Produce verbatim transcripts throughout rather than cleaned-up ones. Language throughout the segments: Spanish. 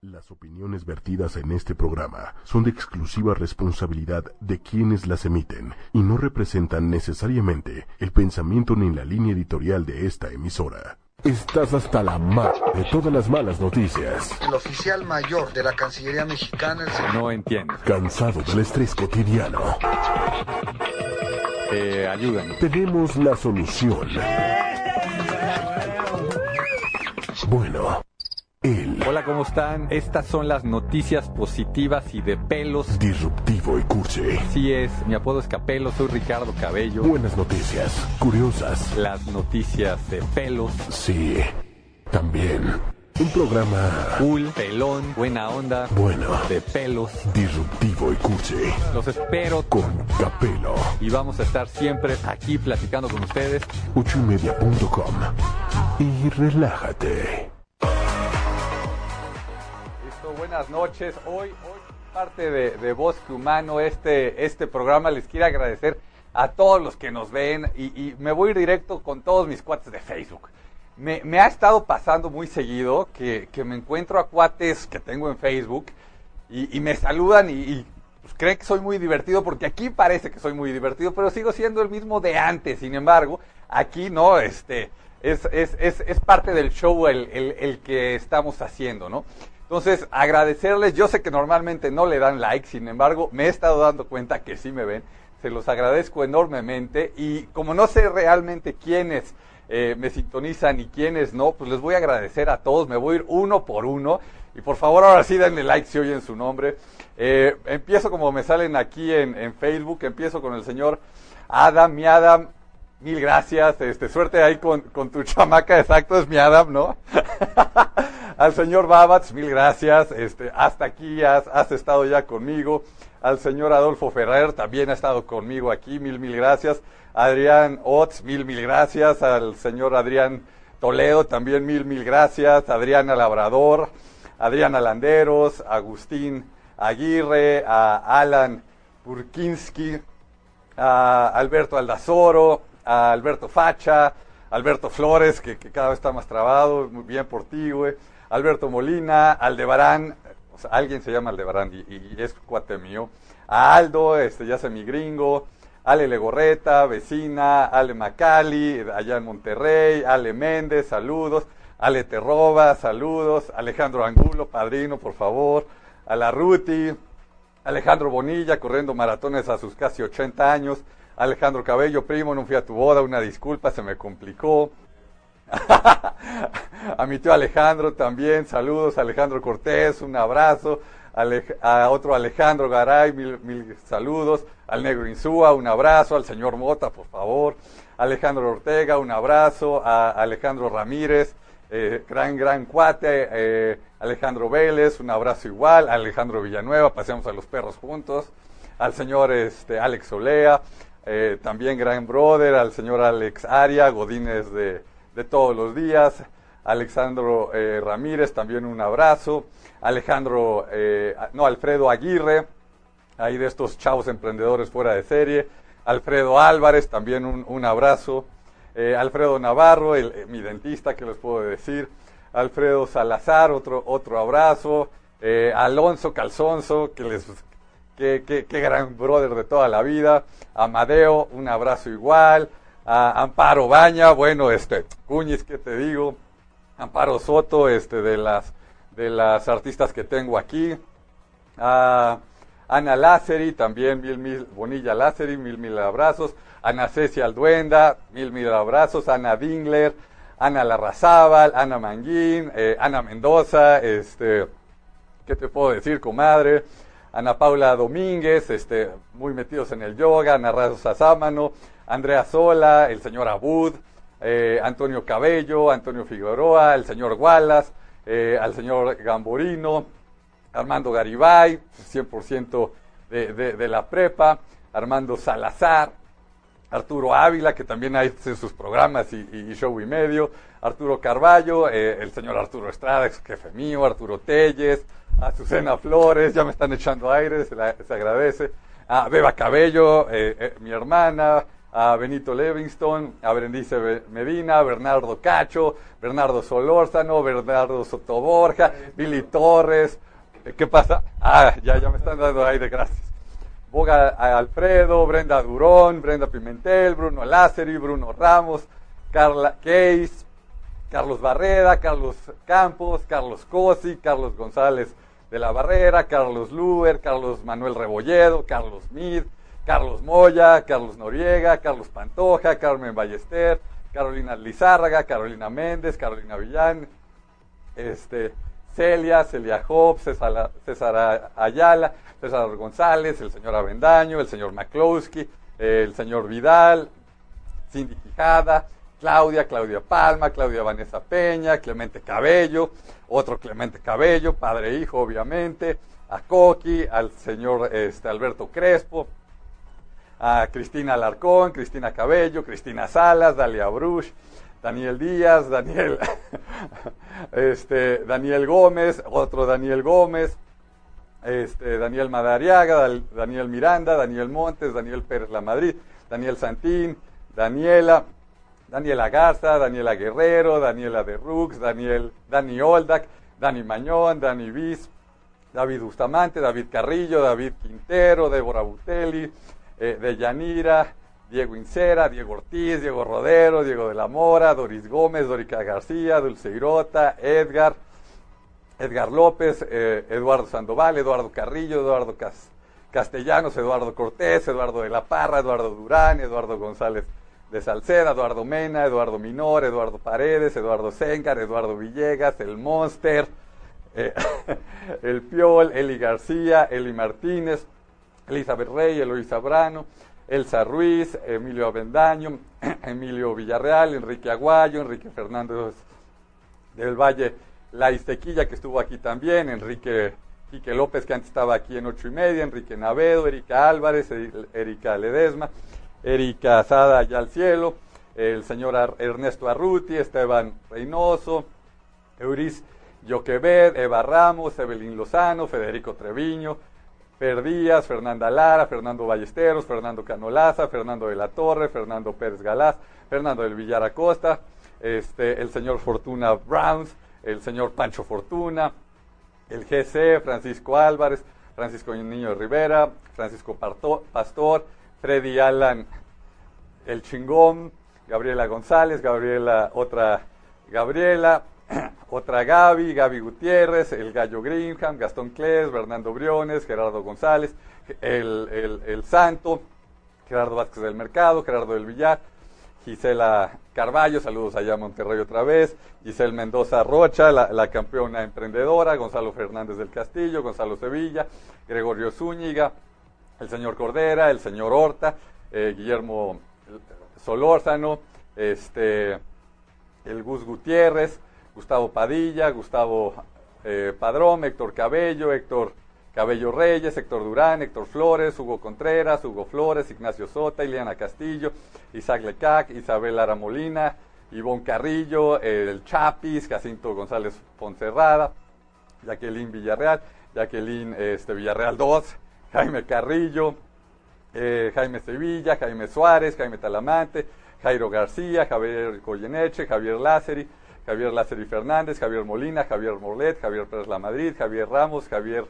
Las opiniones vertidas en este programa son de exclusiva responsabilidad de quienes las emiten y no representan necesariamente el pensamiento ni la línea editorial de esta emisora. Estás hasta la ma de todas las malas noticias. El oficial mayor de la Cancillería mexicana... El... No entiendo. Cansado del estrés cotidiano. Eh, ayúdanos. Tenemos la solución. Bueno... Él. Hola, ¿cómo están? Estas son las noticias positivas y de pelos. Disruptivo y cursi. Así es, mi apodo es Capelo, soy Ricardo Cabello. Buenas noticias, curiosas. Las noticias de pelos. Sí, también. Un programa... Cool, pelón, buena onda. Bueno. De pelos. Disruptivo y cursi. Los espero con Capelo. Y vamos a estar siempre aquí platicando con ustedes. ocho y media punto com. Y relájate. Buenas noches, hoy, hoy parte de, de Bosque Humano, este, este programa les quiero agradecer a todos los que nos ven y, y me voy a ir directo con todos mis cuates de Facebook. Me, me ha estado pasando muy seguido que, que me encuentro a cuates que tengo en Facebook y, y me saludan y, y pues, creen que soy muy divertido porque aquí parece que soy muy divertido, pero sigo siendo el mismo de antes. Sin embargo, aquí no, este, es, es, es, es parte del show el, el, el que estamos haciendo, ¿no? Entonces, agradecerles, yo sé que normalmente no le dan like, sin embargo, me he estado dando cuenta que sí me ven, se los agradezco enormemente, y como no sé realmente quiénes eh, me sintonizan y quiénes no, pues les voy a agradecer a todos, me voy a ir uno por uno, y por favor ahora sí denle like si oyen su nombre. Eh, empiezo como me salen aquí en, en Facebook, empiezo con el señor Adam, mi Adam, mil gracias, este, suerte ahí con, con tu chamaca, exacto, es mi Adam, ¿no? Al señor Babatz, mil gracias, este, hasta aquí has, has estado ya conmigo. Al señor Adolfo Ferrer, también ha estado conmigo aquí, mil, mil gracias. Adrián Otz, mil, mil gracias. Al señor Adrián Toledo, también mil, mil gracias. Adriana Labrador, Adriana Landeros, Agustín Aguirre, a Alan Burkinski, a Alberto Aldazoro, a Alberto Facha, Alberto Flores, que, que cada vez está más trabado, muy bien por ti, güey. Alberto Molina, Aldebarán, o sea, alguien se llama Aldebarán y, y es cuate mío. A Aldo, este, ya sé mi gringo. Ale Legorreta, vecina. Ale Macali, allá en Monterrey. Ale Méndez, saludos. Ale Terroba, saludos. Alejandro Angulo, padrino, por favor. A la Ruti. Alejandro Bonilla, corriendo maratones a sus casi ochenta años. Alejandro Cabello, primo, no fui a tu boda, una disculpa, se me complicó. A mi tío Alejandro también, saludos. Alejandro Cortés, un abrazo. Alej- a otro Alejandro Garay, mil, mil saludos. Al Negro Insúa, un abrazo. Al señor Mota, por favor. Alejandro Ortega, un abrazo. A Alejandro Ramírez, eh, gran, gran cuate. Eh, Alejandro Vélez, un abrazo igual. Alejandro Villanueva, paseamos a los perros juntos. Al señor este, Alex Olea, eh, también gran brother. Al señor Alex Aria, Godínez de... de todos los días. Alexandro eh, Ramírez, también un abrazo. Alejandro, eh, no, Alfredo Aguirre, ahí de estos chavos emprendedores fuera de serie. Alfredo Álvarez, también un, un abrazo. Eh, Alfredo Navarro, el, eh, mi dentista, ¿qué les puedo decir? Alfredo Salazar, otro, otro abrazo. Eh, Alonso Calzonzo, que les... Qué, qué, qué gran brother de toda la vida. Amadeo, un abrazo igual. A Amparo Baña, bueno, este, Cuñiz, ¿qué te digo? Amparo Soto, este, de las, de las artistas que tengo aquí. A Ana Lázari, también mil, mil, Bonilla Lázari, mil, mil abrazos. Ana Cecia Alduenda, mil, mil abrazos. Ana Dingler, Ana Larrazábal, Ana Manguín, eh, Ana Mendoza, este, ¿qué te puedo decir, comadre? Ana Paula Domínguez, este, muy metidos en el yoga. Ana Rosa Sámano, Andrea Sola, el señor Abud, eh, Antonio Cabello, Antonio Figueroa, el señor Wallace, eh, al señor Gamborino, Armando Garibay, cien por ciento de, de, de la prepa, Armando Salazar, Arturo Ávila, que también hace sus programas y, y show y medio, Arturo Carballo, eh, el señor Arturo Estrada, ex jefe mío, Arturo Telles, Azucena Flores, ya me están echando aire, se, la, se agradece, a Beba Cabello, eh, eh, mi hermana, a Benito Livingston, a Berenice Medina, a Bernardo Cacho, Bernardo Solórzano, Bernardo Sotoborja, Billy Torres. ¿Qué pasa? Ah, ya, ya me están dando aire, gracias. Boga Alfredo, Brenda Durón, Brenda Pimentel, Bruno Lázari, Bruno Ramos, Carla Case, Carlos Barreda, Carlos Campos, Carlos Cosi, Carlos González de la Barrera, Carlos Luer, Carlos Manuel Rebolledo, Carlos Mid, Carlos Moya, Carlos Noriega, Carlos Pantoja, Carmen Ballester, Carolina Lizárraga, Carolina Méndez, Carolina Villán, este, Celia, Celia Hobbs, César, César Ayala, César González, el señor Avendaño, el señor McCloskey, el señor Vidal, Cindy Quijada, Claudia, Claudia Palma, Claudia Vanessa Peña, Clemente Cabello, otro Clemente Cabello, padre e hijo obviamente, a Coqui, al señor este, Alberto Crespo, a Cristina Alarcón, Cristina Cabello, Cristina Salas, Dalia Bruch, Daniel Díaz, Daniel, este, Daniel Gómez, otro Daniel Gómez, este, Daniel Madariaga, Daniel Miranda, Daniel Montes, Daniel Pérez Lamadrid, Daniel Santín, Daniela, Daniela Garza, Daniela Guerrero, Daniela de Rux, Daniel, Dani Oldac, Dani Mañón, Dani Viz, David Bustamante, David Carrillo, David Quintero, Débora Butelli, eh, Deyanira, Diego Incera, Diego Ortiz, Diego Rodero, Diego de la Mora, Doris Gómez, Dorica García, Dulce Irota, Edgar, Edgar López, eh, Eduardo Sandoval, Eduardo Carrillo, Eduardo Cas Castellanos, Eduardo Cortés, Eduardo de la Parra, Eduardo Durán, Eduardo González de Salceda, Eduardo Mena, Eduardo Minor, Eduardo Paredes, Eduardo Sengar, Eduardo Villegas, el Monster, eh, el Piol, Eli García, Eli Martínez, Elizabeth Rey, Eloísa Brano, Elsa Ruiz, Emilio Avendaño, Emilio Villarreal, Enrique Aguayo, Enrique Fernández del Valle, La Iztequilla, que estuvo aquí también, Enrique Quique López, que antes estaba aquí en ocho y media, Enrique Navedo, Erika Álvarez, Erika Ledesma, Erika Asada allá al cielo, el señor Ar Ernesto Arruti, Esteban Reynoso, Euris Yoquebed, Eva Ramos, Evelyn Lozano, Federico Treviño, Fer Díaz, Fernanda Lara, Fernando Ballesteros, Fernando Canolaza, Fernando de la Torre, Fernando Pérez Galás, Fernando del Villar Acosta, este, el señor Fortuna Browns, el señor Pancho Fortuna, el G C, Francisco Álvarez, Francisco Niño Rivera, Francisco Parto, Pastor, Freddy Alan, el Chingón, Gabriela González, Gabriela, otra Gabriela, otra Gaby, Gaby Gutiérrez, el Gallo Greenham, Gastón Cles, Bernardo Briones, Gerardo González, el, el, el Santo, Gerardo Vázquez del Mercado, Gerardo del Villar, Gisela Carballo, saludos allá a Monterrey otra vez, Giselle Mendoza Rocha, la, la campeona emprendedora, Gonzalo Fernández del Castillo, Gonzalo Sevilla, Gregorio Zúñiga, el señor Cordera, el señor Horta, eh, Guillermo Solórzano, este, el Gus Gutiérrez, Gustavo Padilla, Gustavo eh, Padrón, Héctor Cabello, Héctor Cabello Reyes, Héctor Durán, Héctor Flores, Hugo Contreras, Hugo Flores, Ignacio Sota, Ileana Castillo, Isaac Lecac, Isabel Lara Molina, Ivonne Carrillo, eh, el Chapis, Jacinto González Fonserrada, Jacqueline Villarreal, Jacqueline este, Villarreal dos, Jaime Carrillo, eh, Jaime Sevilla, Jaime Suárez, Jaime Talamante, Jairo García, Javier Goyeneche, Javier Lázari, Javier Lázari Fernández, Javier Molina, Javier Morlet, Javier Pérez Lamadrid, Javier Ramos, Javier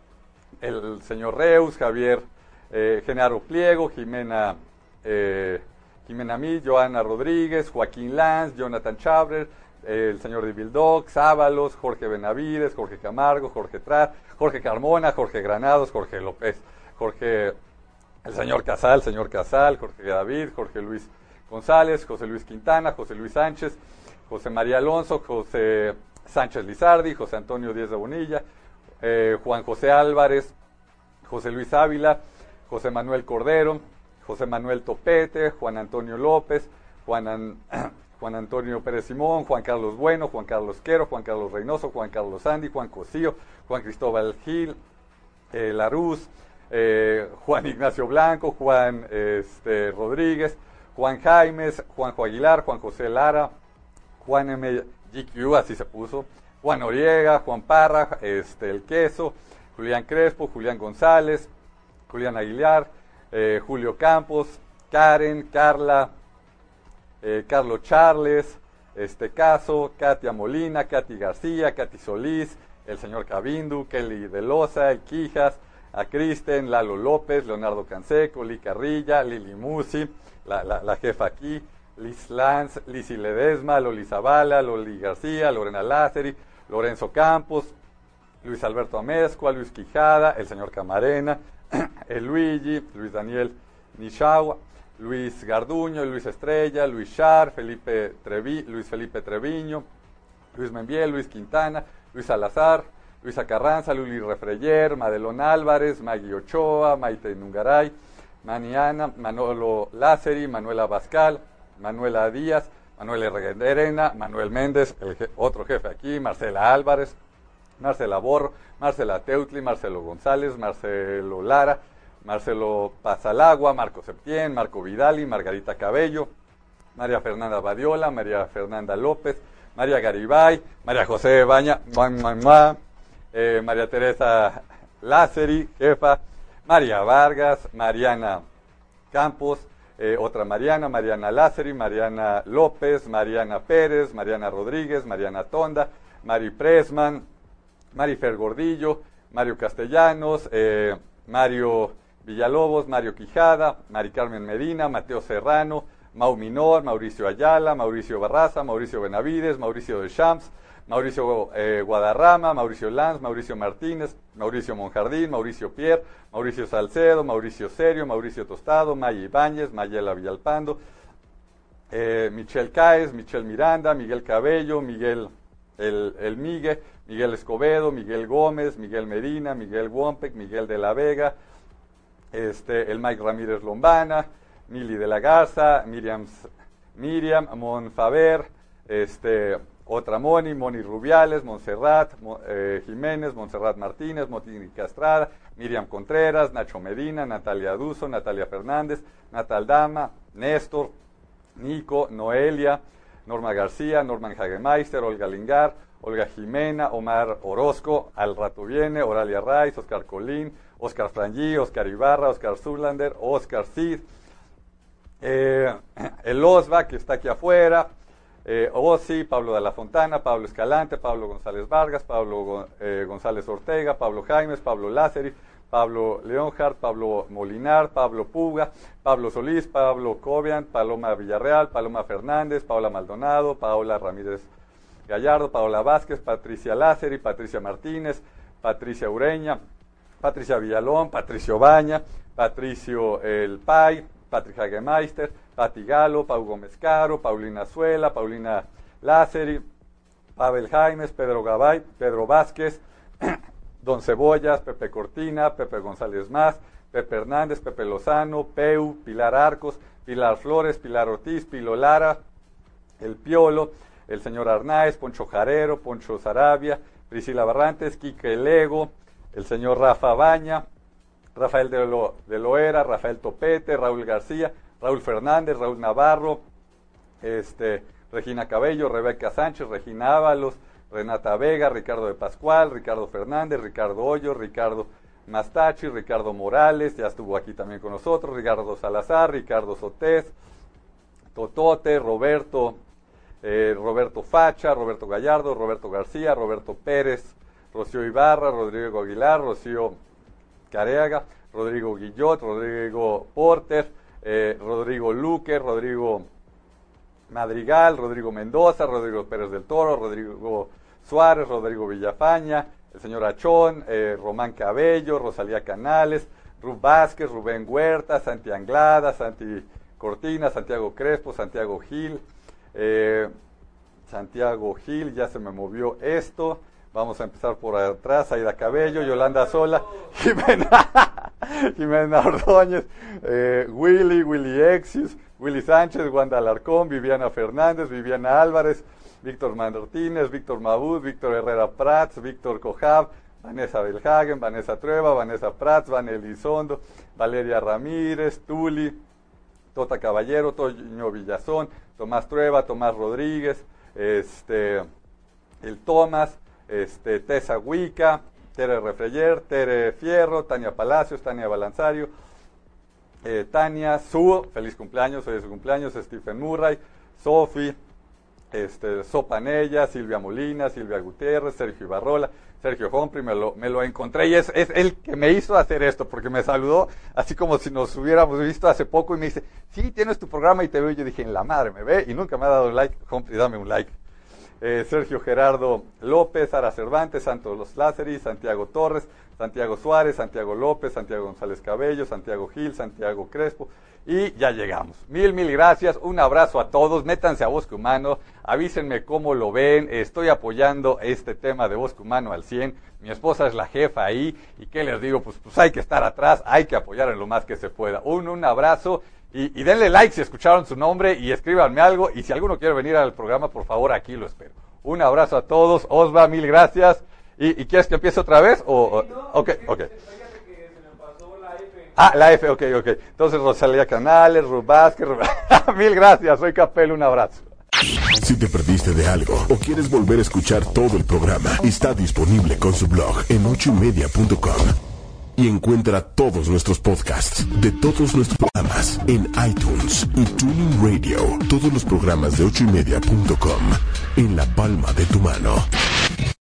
el señor Reus, Javier eh, Genaro Pliego, Jimena eh, Jimena Mí, Joana Rodríguez, Joaquín Lanz, Jonathan Chabrer, eh, el señor Divildoc, Sábalos, Jorge Benavides, Jorge Camargo, Jorge Trat, Jorge Carmona, Jorge Granados, Jorge López, Jorge, el señor Casal, señor Casal, Jorge David, Jorge Luis González, José Luis Quintana, José Luis Sánchez, José María Alonso, José Sánchez Lizardi, José Antonio Díez de Bonilla, eh, Juan José Álvarez, José Luis Ávila, José Manuel Cordero, José Manuel Topete, Juan Antonio López, Juan, An, Juan Antonio Pérez Simón, Juan Carlos Bueno, Juan Carlos Quero, Juan Carlos Reynoso, Juan Carlos Sandy, Juan Cosío, Juan Cristóbal Gil, eh, Laruz, eh, Juan Ignacio Blanco, Juan este, Rodríguez, Juan Jaimes, Juanjo Aguilar, Juan José Lara, Juan M. G Q, así se puso, Juan Noriega, Juan Parra, este, El Queso, Julián Crespo, Julián González, Julián Aguilar, eh, Julio Campos, Karen, Carla, eh, Carlos Charles, este Caso, Katia Molina, Katy García, Katy Solís, el señor Cabindu, Kelly de Loza, el Quijas, a Kristen, Lalo López, Leonardo Canseco, Lee Carrilla, Lili Musi, la, la, la jefa aquí, Liz Lanz, Lizzy Ledesma, Loli Zavala, Loli García, Lorena Lázari, Lorenzo Campos, Luis Alberto Amezcua, Luis Quijada, el señor Camarena, el Luigi, Luis Daniel Nishagua, Luis Garduño, Luis Estrella, Luis Char, Felipe Trevi, Luis Felipe Treviño, Luis Membiel, Luis Quintana, Luis Salazar, Luisa Carranza, Luli Refreyer, Madelón Álvarez, Maggie Ochoa, Maite Nungaray, Maniana, Manolo Lázari, Manuela Bascal, Manuela Díaz, Manuel Reguerena, Manuel Méndez, el je otro jefe aquí, Marcela Álvarez, Marcela Borro, Marcela Teutli, Marcelo González, Marcelo Lara, Marcelo Pazalagua, Marco Septién, Marco Vidali, Margarita Cabello, María Fernanda Badiola, María Fernanda López, María Garibay, María José Baña, mua, mua, mua, eh, María Teresa Lázari, jefa, María Vargas, Mariana Campos, eh, otra Mariana, Mariana Lázari, Mariana López, Mariana Pérez, Mariana Rodríguez, Mariana Tonda, Mari Presman, Marifer Gordillo, Mario Castellanos, eh, Mario Villalobos, Mario Quijada, Mari Carmen Medina, Mateo Serrano, Mau Minor, Mauricio Ayala, Mauricio Barraza, Mauricio Benavides, Mauricio de Champs, Mauricio eh, Guadarrama, Mauricio Lanz, Mauricio Martínez, Mauricio Monjardín, Mauricio Pierre, Mauricio Salcedo, Mauricio Serio, Mauricio Tostado, Maya Ibáñez, Mayela Villalpando, eh, Michelle Caes, Michelle Miranda, Miguel Cabello, Miguel el, el Migue, Miguel Escobedo, Miguel Gómez, Miguel Medina, Miguel Wompec, Miguel de la Vega, este, el Mike Ramírez Lombana, Mili de la Garza, Miriam, Miriam Monfaver, este, otra Moni, Moni Rubiales, Montserrat eh, Jiménez, Montserrat Martínez, Mónica Estrada, Miriam Contreras, Nacho Medina, Natalia Duso, Natalia Fernández, Natal Dama, Néstor, Nico, Noelia, Norma García, Norman Hagemeister, Olga Lingar, Olga Jimena, Omar Orozco, al rato viene, Oralia Raiz, Oscar Colín, Oscar Frangí, Oscar Ibarra, Oscar Zulander, Oscar Cid, eh, el Osva, que está aquí afuera, eh, Osi, Pablo de la Fontana, Pablo Escalante, Pablo González Vargas, Pablo eh, González Ortega, Pablo Jaimes, Pablo Lázari, Pablo Leonhardt, Pablo Molinar, Pablo Puga, Pablo Solís, Pablo Cobian, Paloma Villarreal, Paloma Fernández, Paula Maldonado, Paola Ramírez Gallardo, Paola Vázquez, Patricia Lázari, Patricia Martínez, Patricia Ureña, Patricia Villalón, Patricio Baña, Patricio El Pay, Patrick Hagemeister, Pati Galo, Pau Gómez Caro, Paulina Azuela, Paulina Lázari, Pavel Jaimes, Pedro Gabay, Pedro Vázquez, Don Cebollas, Pepe Cortina, Pepe González Más, Pepe Hernández, Pepe Lozano, Peu, Pilar Arcos, Pilar Flores, Pilar Ortiz, Pilo Lara, El Piolo, el señor Arnáez, Poncho Jarero, Poncho Sarabia, Priscila Barrantes, Quique Lego, el señor Rafa Baña, Rafael de, Lo, de Loera, Rafael Topete, Raúl García, Raúl Fernández, Raúl Navarro, este, Regina Cabello, Rebeca Sánchez, Regina Ábalos, Renata Vega, Ricardo de Pascual, Ricardo Fernández, Ricardo Hoyo, Ricardo Mastachi, Ricardo Morales, ya estuvo aquí también con nosotros, Ricardo Salazar, Ricardo Sotés, Totote, Roberto, eh, Roberto Facha, Roberto Gallardo, Roberto García, Roberto Pérez, Rocío Ibarra, Rodrigo Aguilar, Rocío Careaga, Rodrigo Guillot, Rodrigo Porter, eh, Rodrigo Luque, Rodrigo Madrigal, Rodrigo Mendoza, Rodrigo Pérez del Toro, Rodrigo Suárez, Rodrigo Villafaña, el señor Achón, eh, Román Cabello, Rosalía Canales, Rub Vázquez, Rubén Huerta, Santi Anglada, Santi Cortina, Santiago Crespo, Santiago Gil, eh, Santiago Gil, ya se me movió esto. Vamos a empezar por atrás, Aida Cabello, Yolanda Sola, Jimena, Jimena Ordóñez, eh, Willy, Willy Exius, Willy Sánchez, Wanda Alarcón, Viviana Fernández, Viviana Álvarez, Víctor Martínez, Víctor Mabud, Víctor Herrera Prats, Víctor Cojab, Vanessa Belhagen, Vanessa Trueba, Vanessa Prats, Van Elizondo, Valeria Ramírez, Tuli, Tota Caballero, Toño Villazón, Tomás Trueba, Tomás Rodríguez, este, el Tomás, Este, Tessa Huica, Tere Refreyer, Tere Fierro, Tania Palacios, Tania Balanzario, eh, Tania, Su, feliz cumpleaños, hoy es su cumpleaños, Stephen Murray, Sofi, este, Sopanella, Silvia Molina, Silvia Gutiérrez, Sergio Ibarrola, Sergio Humphrey, me lo, me lo encontré y es, es el que me hizo hacer esto, porque me saludó así como si nos hubiéramos visto hace poco y me dice, sí, tienes tu programa y te veo. Y yo dije, en la madre me ve y nunca me ha dado un like. Humphrey, dame un like. Eh, Sergio Gerardo López, Sara Cervantes, Santos Los Lázaris, Santiago Torres, Santiago Suárez, Santiago López, Santiago González Cabello, Santiago Gil, Santiago Crespo, y ya llegamos. Mil, mil gracias, un abrazo a todos, métanse a Bosque Humano, avísenme cómo lo ven, estoy apoyando este tema de Bosque Humano al cien, mi esposa es la jefa ahí, y qué les digo, pues, pues hay que estar atrás, hay que apoyar en lo más que se pueda. Un, un abrazo. Y, y denle like si escucharon su nombre y escríbanme algo. Y si alguno quiere venir al programa, por favor, aquí lo espero. Un abrazo a todos. Osva, mil gracias. ¿Y, y quieres que empiece otra vez? O, Sí, no, ok, ok. que se me pasó la F. Ah, la F, ok, ok. Entonces, Rosalía Canales, Ruth Vázquez. Ruth... mil gracias, soy Capel, un abrazo. Si te perdiste de algo o quieres volver a escuchar todo el programa, está disponible con su blog en ocho y media punto com. Y encuentra todos nuestros podcasts de todos nuestros programas en iTunes y TuneIn Radio. Todos los programas de ocho y media punto com en la palma de tu mano.